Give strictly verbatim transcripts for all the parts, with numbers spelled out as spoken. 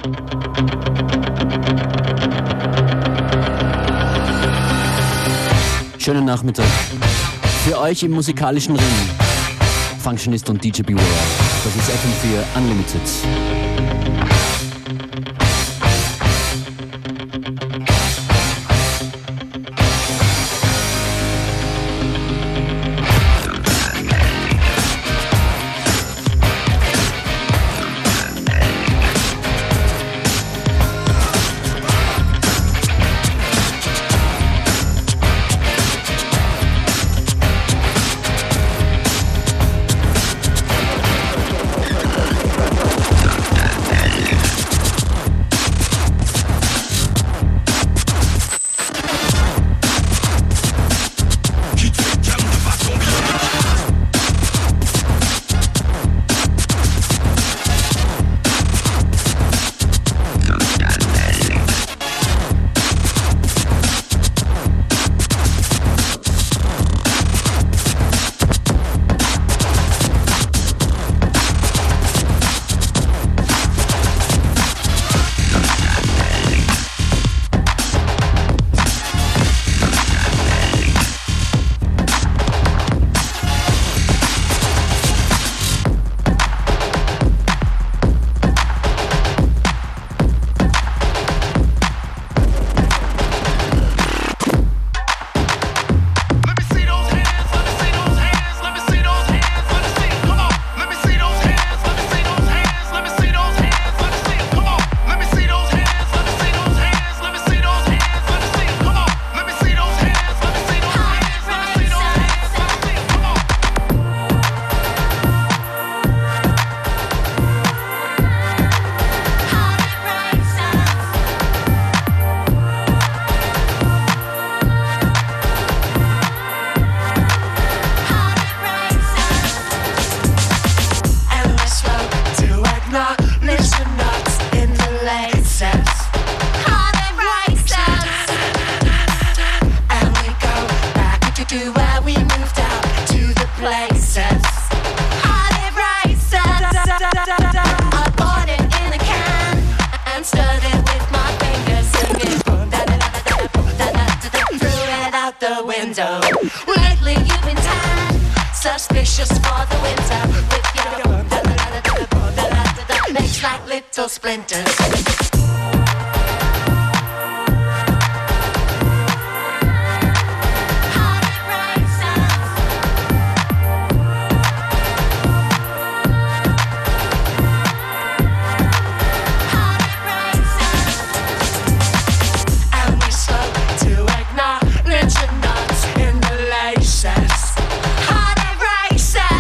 Schönen Nachmittag. Für euch im musikalischen Ring. Functionist und D J Beware. Das ist F M vier Unlimited.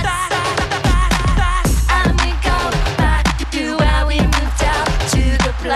Play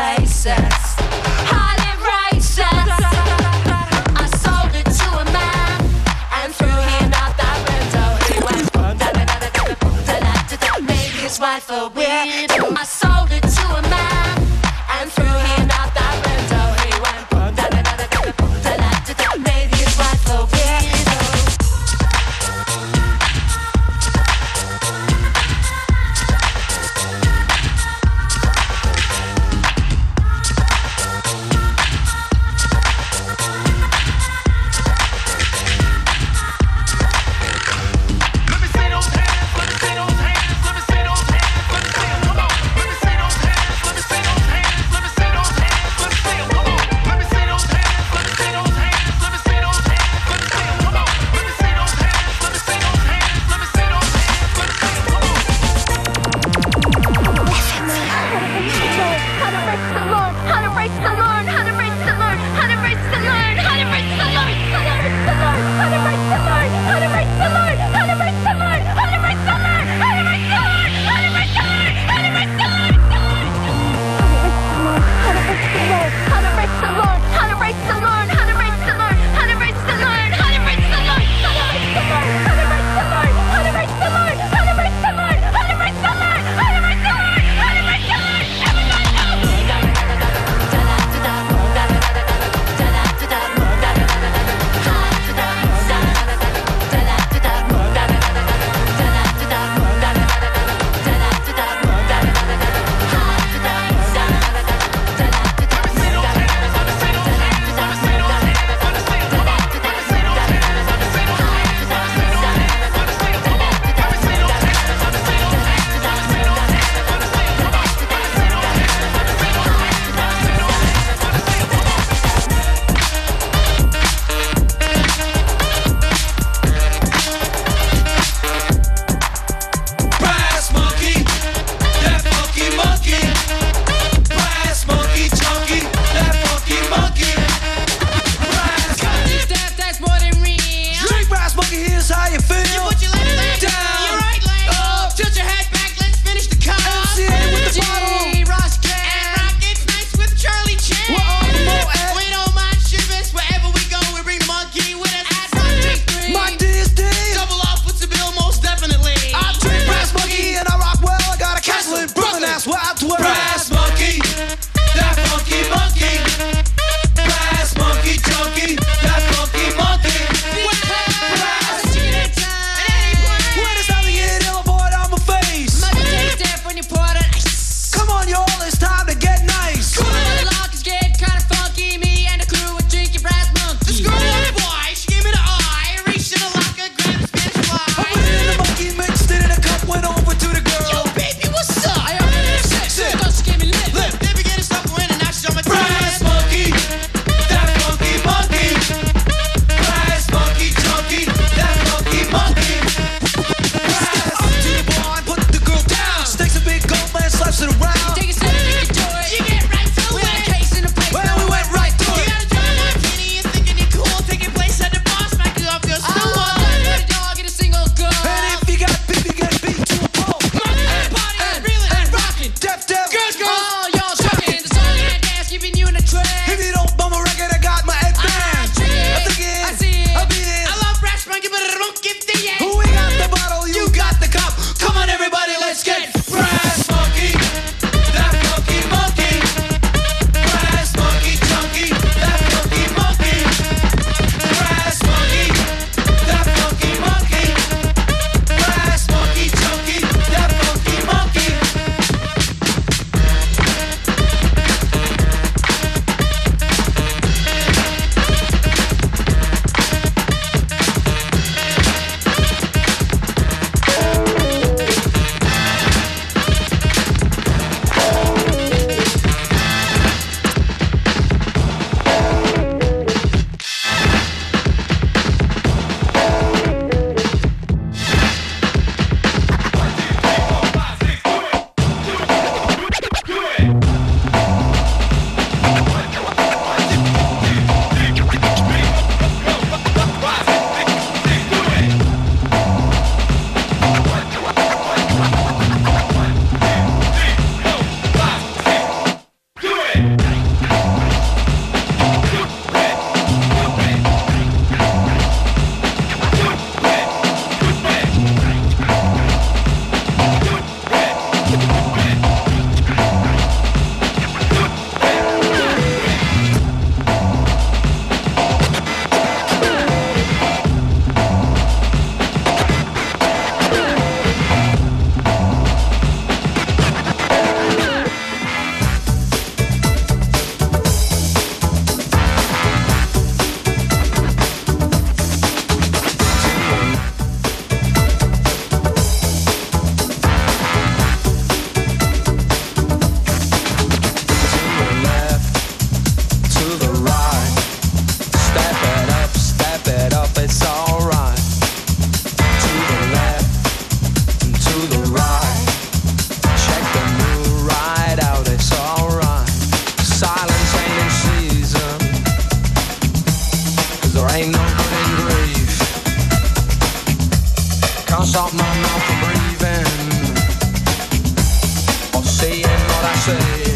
sea.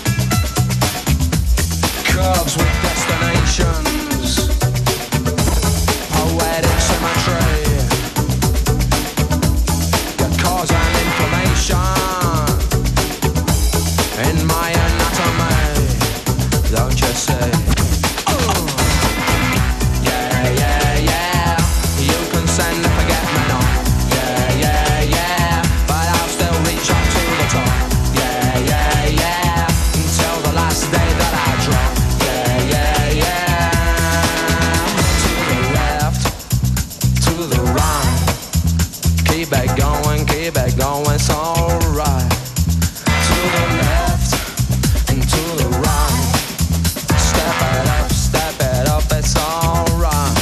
Curves with destinations, poetic symmetry, that cause an inflammation in my anatomy, don't you say? Oh. Yeah, yeah, yeah, you can send and forget me not. Yeah, yeah, yeah, but I'll still reach up to the top. Yeah, yeah, yeah, until the last day that I drop. Yeah, yeah, yeah, to the left, to the right, keep it going, keep it going, it's alright. To the left and to the right, step it up, step it up, it's alright.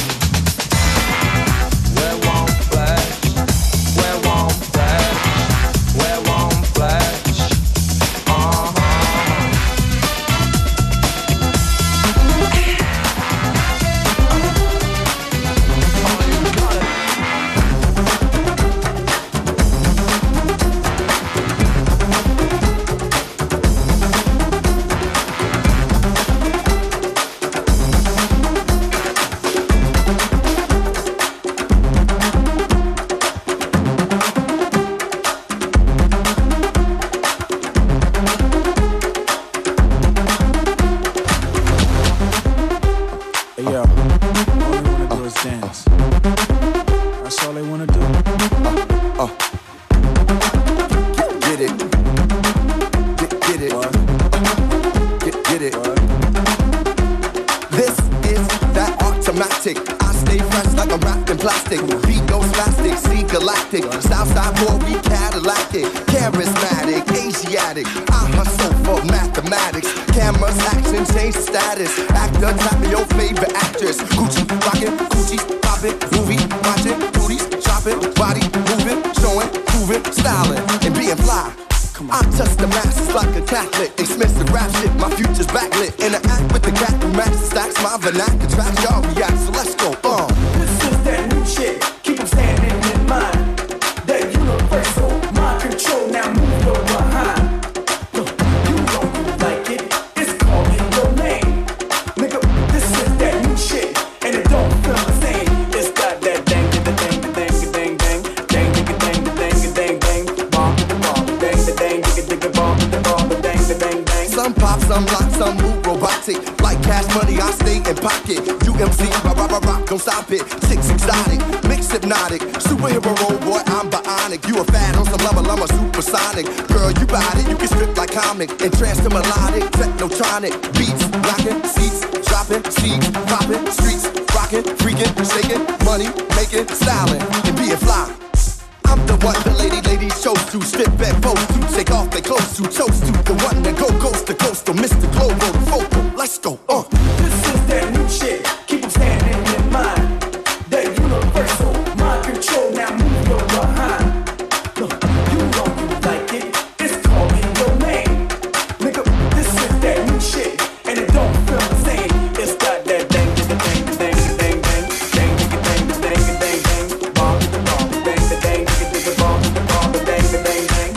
We won't flex, we won't flex, we won't flex. Uh-huh. Oh, you got it. Hey yo, all they wanna do is dance. That's all they wanna do. Uh, get, get it. Get, get it. What? Get, get it. What? This is that automatic. I stay fresh like I'm wrapped in plastic. Beat goes plastic, see galactic. Southside boy, we Cadillac it. Charismatic, Asiatic. I hustle for mathematics. Cameras, action, change status. Actor, tapping your favorite actress. Gucci, rockin', Gucci, poppin', movie, watchin', booties, shopping, body moving, showing, proving, styling, and being fly. I touch the masses like a Catholic. Expensive rap shit, my future's backlit. Interact with the cat who match stacks my vernacular tracks. Y'all react, so let's go. Uh. This is that new shit. Keep them standing in mind. That universal mind control. Now move your behind. Look, you know you like it. It's calling your name. Nigga, this is that new shit. And it don't feel the same. It's got that dang, dang, dang, dang, dang, dang, dang, dang, dang, dang, dang, dang, bomb, bomb, dang, dang, dang, dang, bomb, bomb, dang, dang, dang. Some pop, some lock, some move robotic. Like cash money, I stay in pocket. U M C, rock, rock, rock, rock, don't stop it. Chicks exotic, mix hypnotic. Superhero role, boy, I'm bionic. You a fan on some level, I'm a supersonic. Girl, you bout it, you can strip like comic. And trance to melodic, technotronic. Beats, rockin', seats, dropping, seeds, popping, streets, rockin', freaking, shaking, money, making, styling, and being fly. I'm the one the lady ladies chose to strip back pose to take off their clothes to toast to the one that go coast to coast to Mister Global the focal. Let's go. Uh. This is that new shit. Keep them standing in mind. That universal mind control. Now move your behind. Look, you know you like it. It's calling your name. Nigga, this is that new shit. And it don't feel the same. It's got that dang, dang, dang, dang, dang, dang, dang, dang, dang, dang, dang, dang, bomb, bomb, dang, dang, dang, bomb, bomb, dang, dang, dang.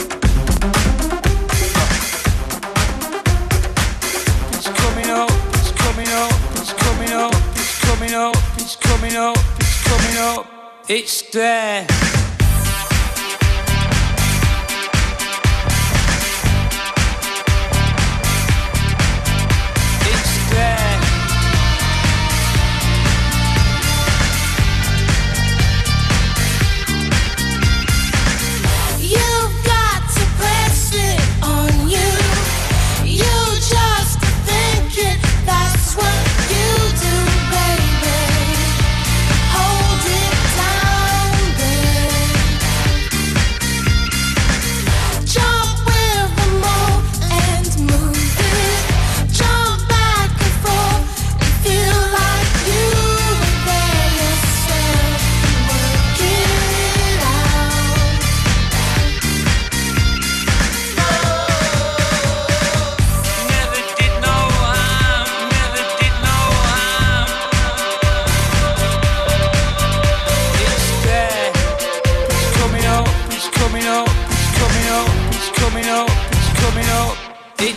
It's coming up, it's coming up, it's coming up, it's coming up, it's coming up, it's coming up, it's there. It's there. You've got to press it on you. You just think it, that's what you do, baby. Hold it down, baby.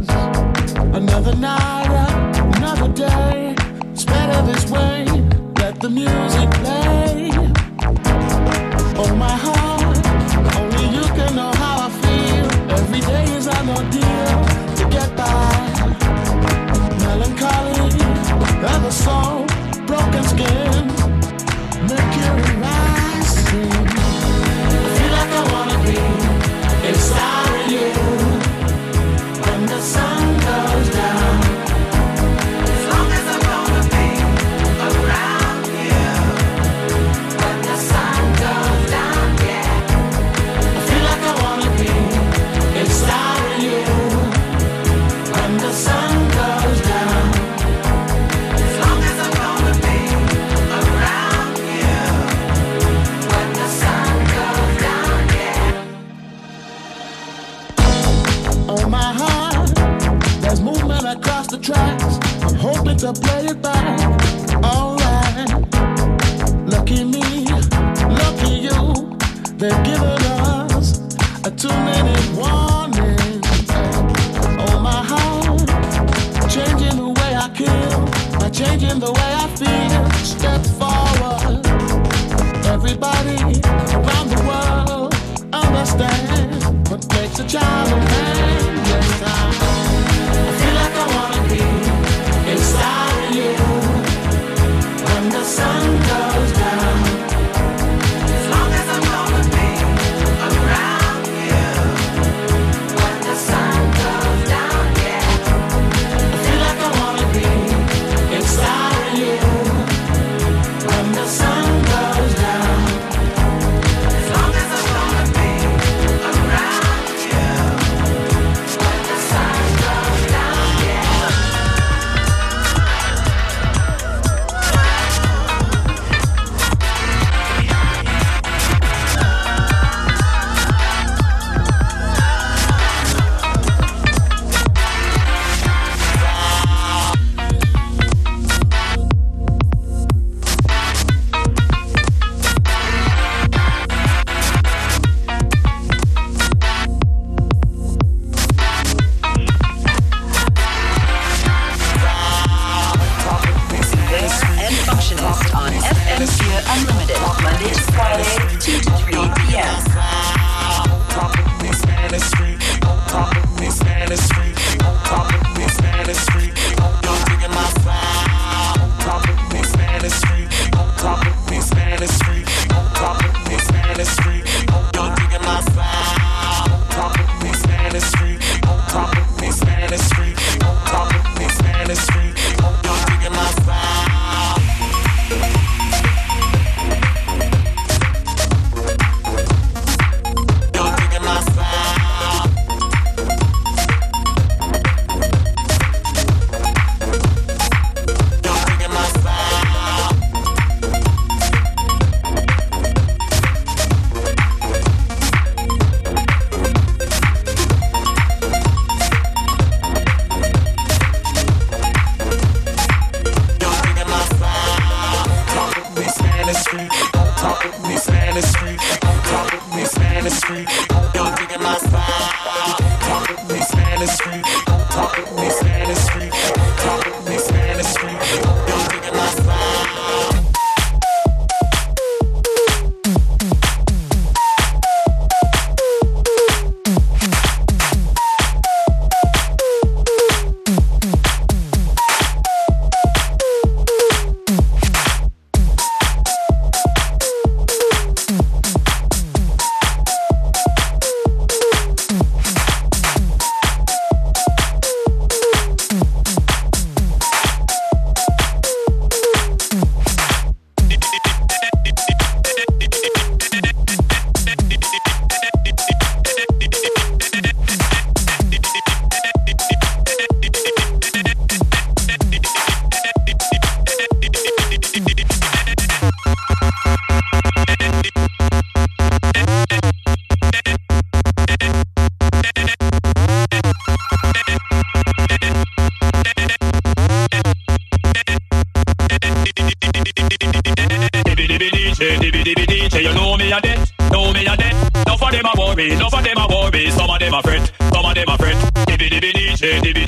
Another night, another day. It's better this way. Let the music play. Oh my heart, only you can know how I feel. Every day is an ordeal to get by. Melancholy, other soul, broken skin, mercury rising. I feel like I wanna be inside of you when the sun goes down. As long as I'm gonna be around you when the sun goes down, yeah. I feel like I wanna be inside of you when the sun goes down. As long as I'm gonna be around you when the sun goes down, yeah. Oh my heart, there's movement across the tracks. I'm hoping to play it back. Alright, lucky me, lucky you. They've given us a two-minute warning. Oh my heart, changing the way I kill by changing the way I feel. Step forward, everybody around the world understand what makes a child a man. Yes, I, I feel like I wanna be inside of you when the sun goes down. As long as I'm gonna be around you when the sun goes down, yeah. I feel like I wanna be inside of you when the sun goes down. As long as I'm gonna be around you when the sun goes down, yeah. And Functionist on F M four Unlimited, Monday to Friday, two to three p.m. Enough of them a worry, some of them a fret, some of them a fret. Dibby dibby D J, dibby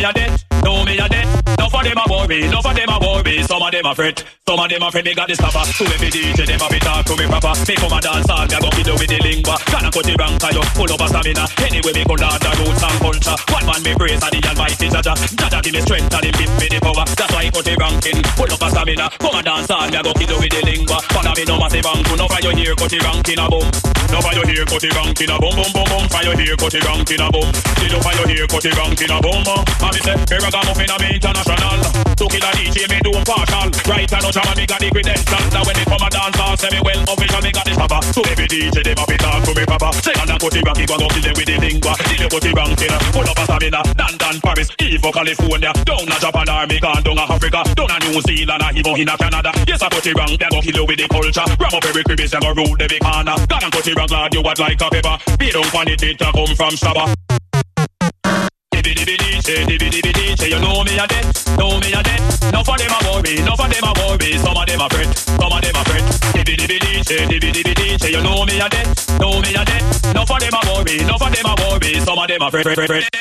me a dead, know me a dead. Enough of them a worry, enough of them a worry. Some of them a fret, some of them a fret. Me got the stopper. To every D J, them a be talk to me proper. Me come a dance all, me a go kiddo with the lingua. Can I cut the rank, I just pull up a stamina. Anyway, me go down the roots and culture. One man me praise and the almighty Jaja. Jaja give me strength and him give me the power. That's why I cut the ranking, pull up a stamina. Come a dance all, me a go kiddo with the lingua. Follow me no massive rank, no for your ear, cut the ranking a boom. No for your ear, cut the ranking a boom, boom, boom, boom. For your ear, cut the ranking a boom. Still up for your ear, cut the ranking a boom. And me say, here I got muffin a me international. To kill a D J, me do partial. Right and no drama, me got the credentials. Now when me come a dance all, say me well official, me got the stopper. To every D J, them a be talk to me proper. Say and cut the ranking, go go kill them with the lingua. Still cut the ranking, pull up a stamina. London, Paris, Evo, California. Down a Japan, Armenian, down a Africa. Down a New Zealand, even in a Canada. Yes, I cut the rank, they go kill you with the culture. Ram up every crevice, they go rule every corner. God and cut the rank, glad you what like a pepper. Be don't find it, it a come from Shabba. Dibby dibby D J, dibby dibby D J, you know me a dead, know me a dead. Enough of them a worry, enough of them a worry. Some of them a fret, some of them a fret. Dibby dibby D J, dibby dibby D J, you know me a dead, know me a dead. Enough of them a worry, enough of them a worry. Some of them a fret, fret, fret, fret.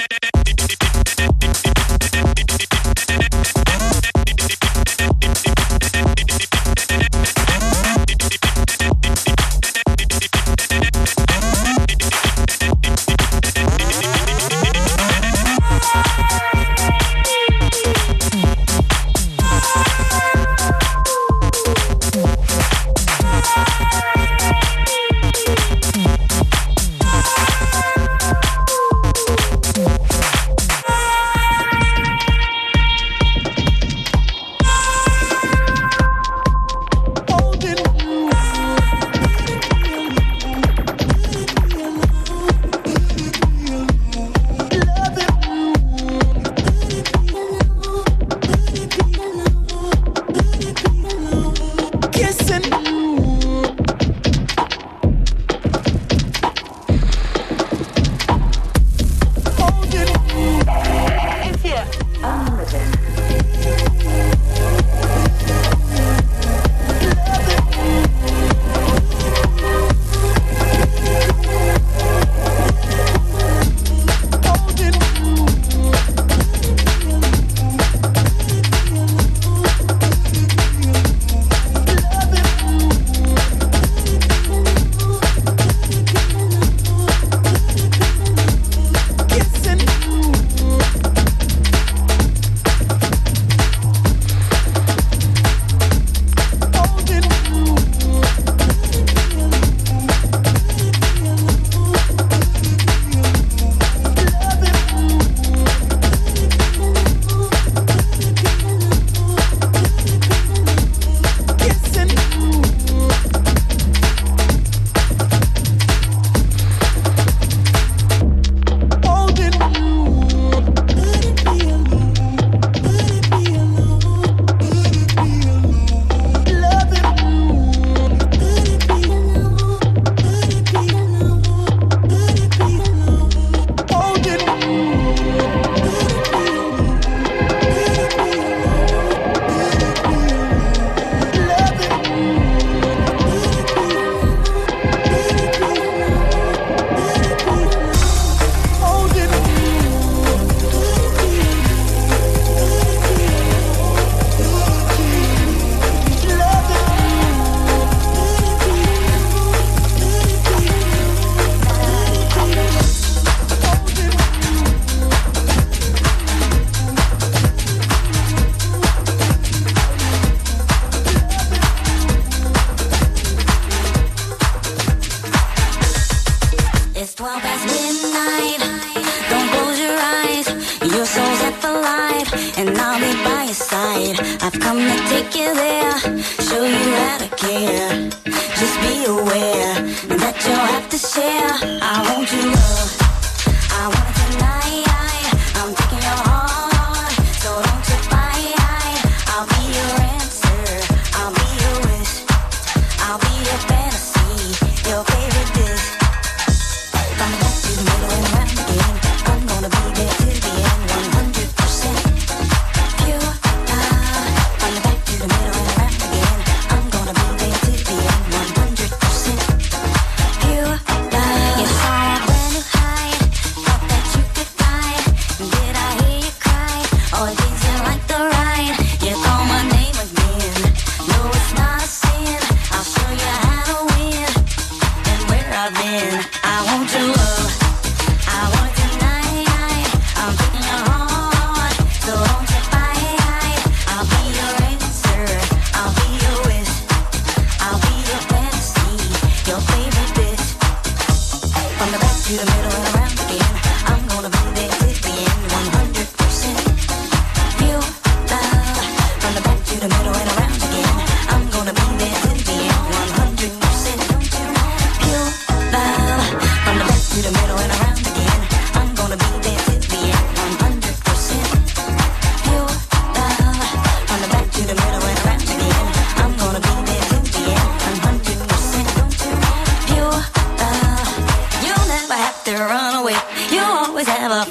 I've come to take you there, show you how to care. Just be aware that you'll have to share. I want you love, I want it tonight. I'm taking your heart, so don't you fight. I'll be your answer, I'll be your wish, I'll be your fantasy, your favorite dish. From the back to the middle and round again, I'm gonna be there till the end, one hundred percent pure. From the back to the middle and round again, I'm gonna be there till the end, one hundred percent pure love. You saw a brand new height, thought that you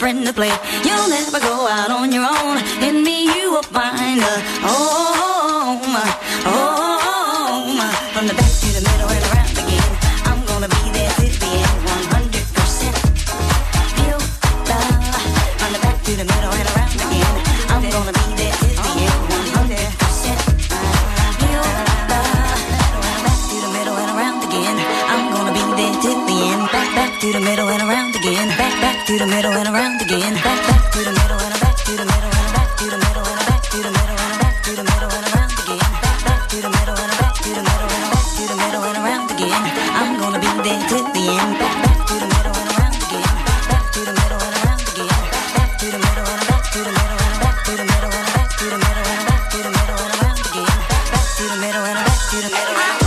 friend to play. You'll never go out on your own. In me you will find a home, home. From the back to the middle and around again. I'm gonna be there till the end, one hundred percent. Feel love. From the back to the middle and around again. I'm gonna be there till the end, one hundred percent. Feel love. Back to the middle and around again. I'm gonna be there till the end. Back, back to the middle and around again. Back, back to the middle and around again. Back, back to the middle and back to the middle and back to the middle and back to the middle and back to the middle and around again. Back, back to the middle and back to the middle and back to the middle and around again. I'm gonna be there till the end. Back, back to the middle and around again. Back to the middle and around again. Back to the middle and back to the middle and back to the middle and back to the middle and back to the middle and around again. Back to the middle and back to the middle and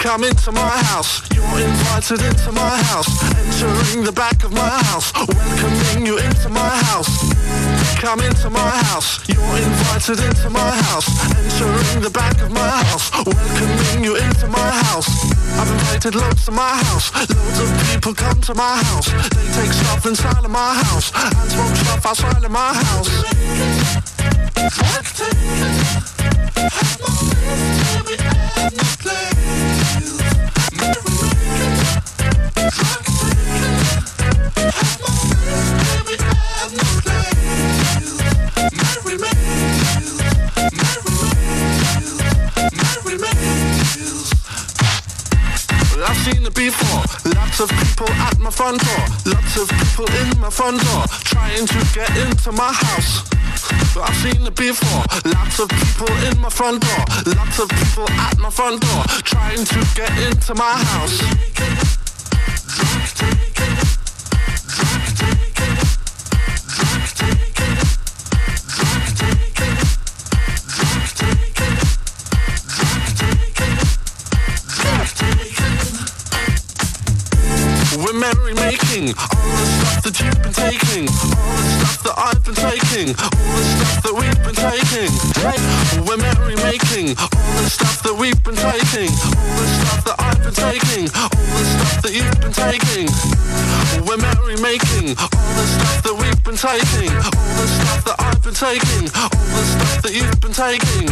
Come into my house, you're invited into my house. Entering the back of my house, welcoming you into my house. Come into my house, you're invited into my house. Entering the back of my house, welcoming you into my house. I've invited loads to my house, loads of people come to my house. They take stuff inside of my house, and smoke stuff outside of my house. I've seen it before, lots of people at my front door, lots of people in my front door, trying to get into my house. I've seen it before, lots of people in my front door, lots of people at my front door, trying to get into my house. We're merry-making all the stuff that you've been taking, all the stuff that I've been taking, all the stuff that we've been taking. We're merry-making all the stuff that we've been taking, all the stuff that I've been taking, all the stuff that you've been taking. We're merry-making all the stuff that we've been taking, all the stuff that I've been taking, all the stuff that you've been taking.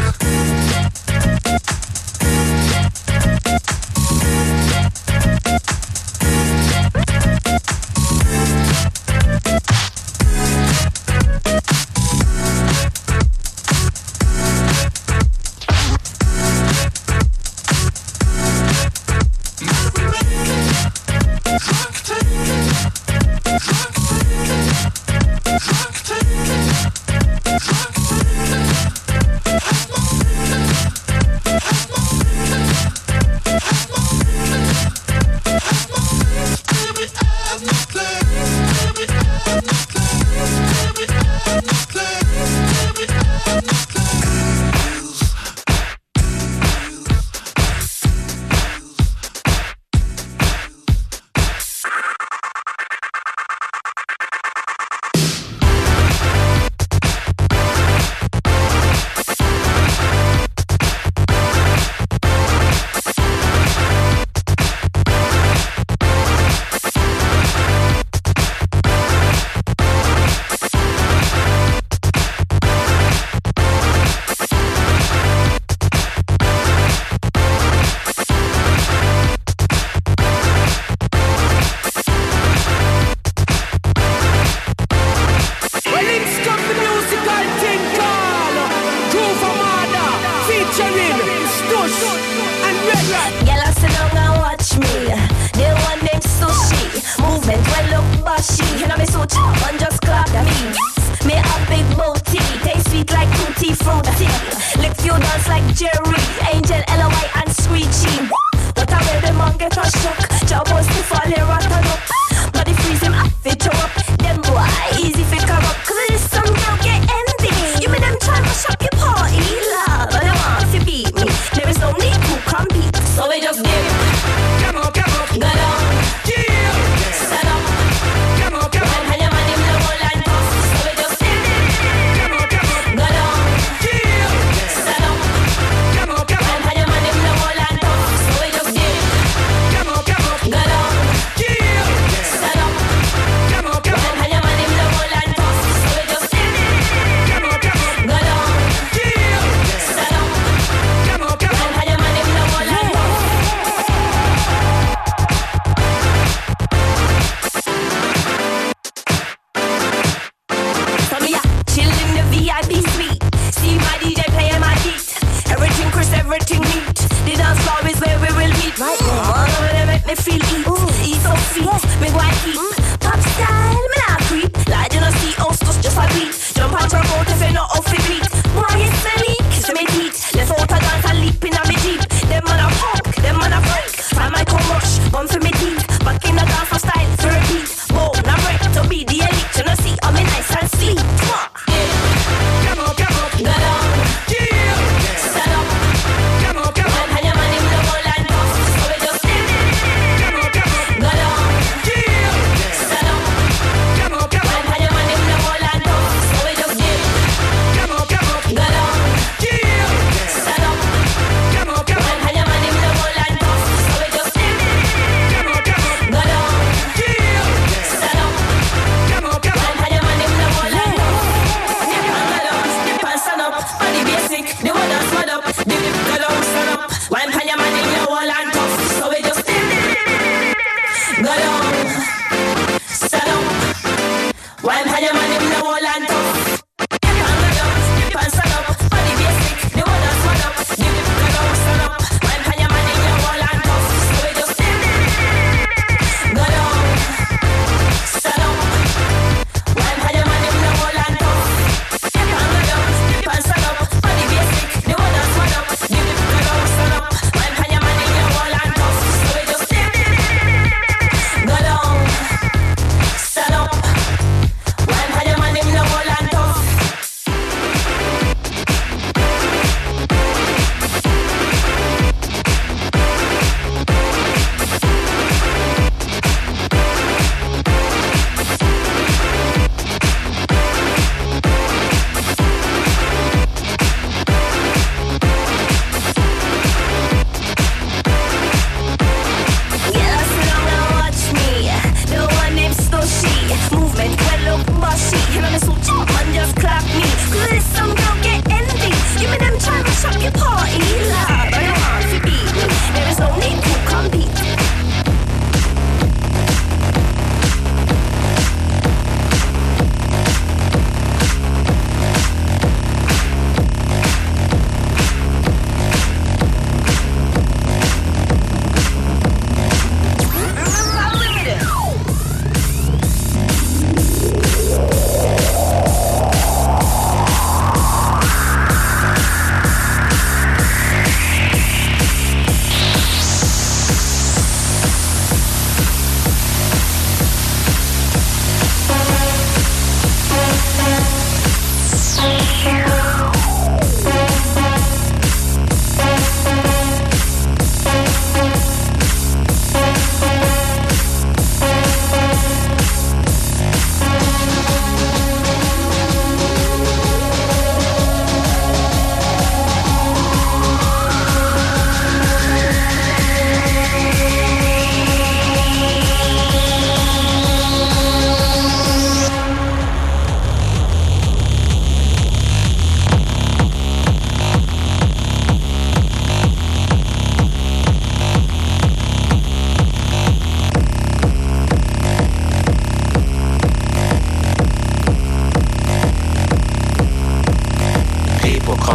So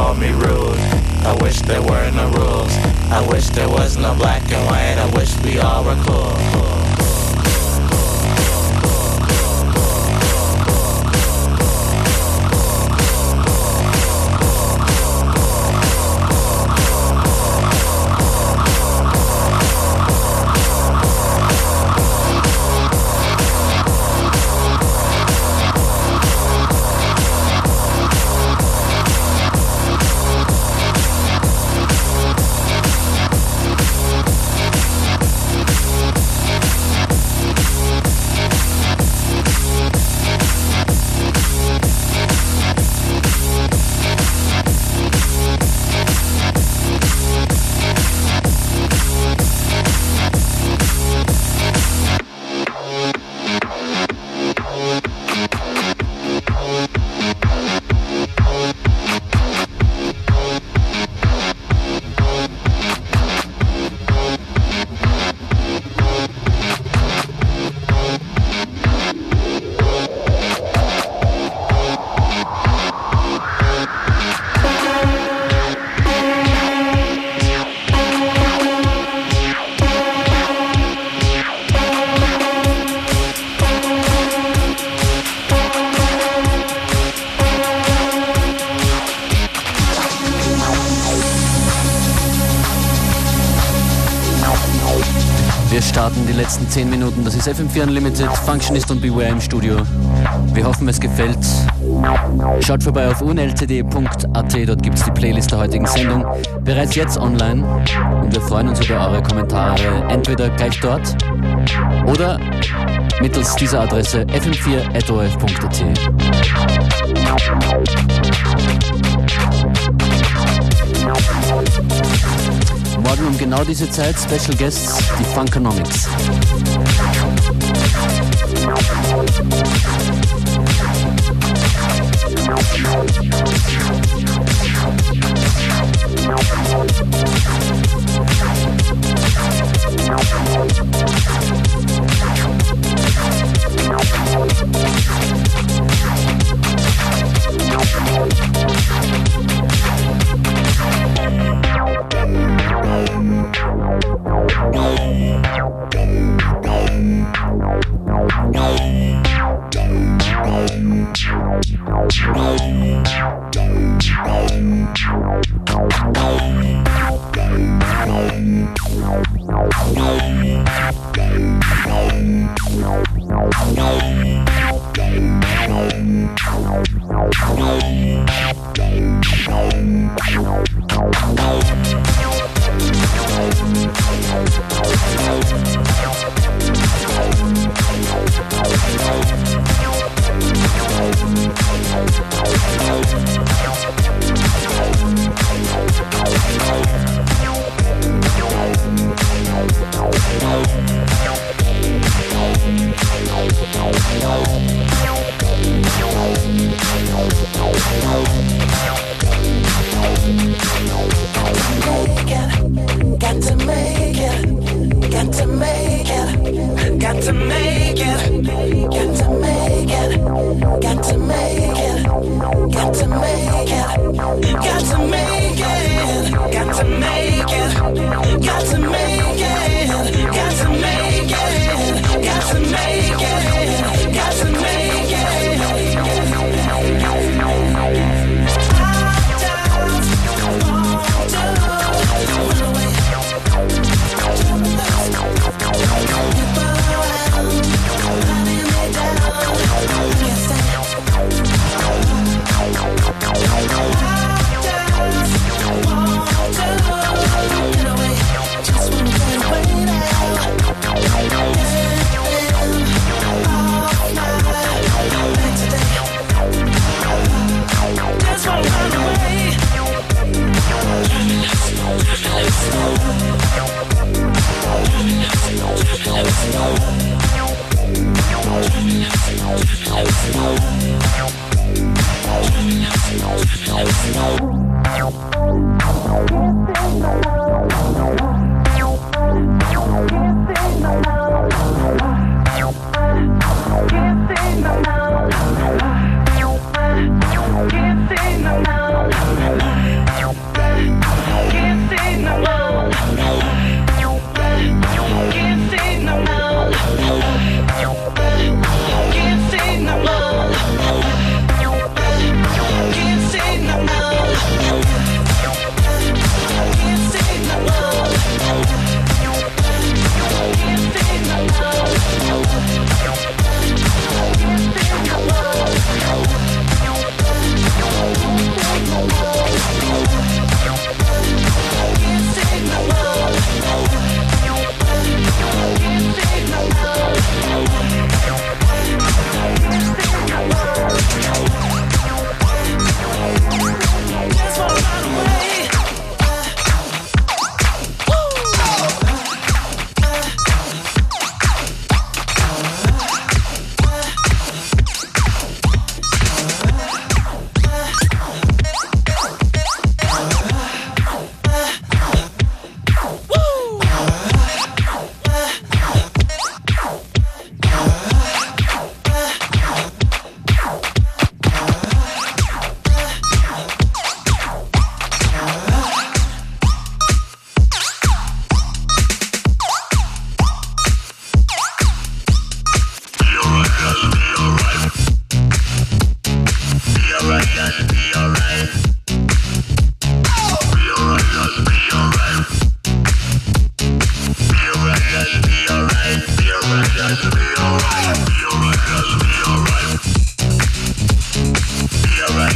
call me rude. I wish there were no rules. I wish there was no black and white. I wish we all were cool. Wir starten die letzten zehn Minuten. Das ist F M vier Unlimited, Functionist und Beware im Studio. Wir hoffen, es gefällt. Schaut vorbei auf u n l t d punkt a t, dort gibt es die Playlist der heutigen Sendung. Bereits jetzt online. Und wir freuen uns über eure Kommentare, entweder gleich dort oder mittels dieser Adresse f m vier at o r f punkt a t. Morgen um genau diese Zeit Special Guests, die Funkonomics. Can't say no, no, no, no, no.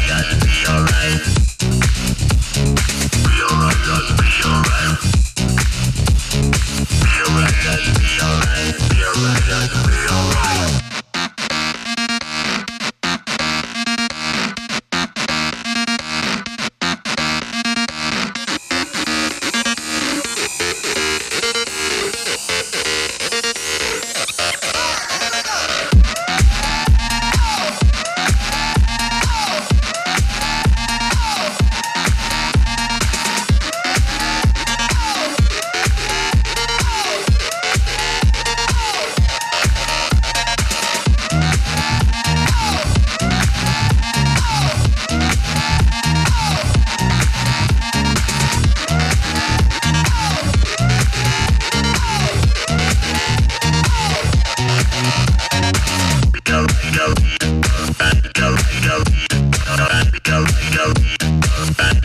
Go, go, go, go, go, go, go, go, go,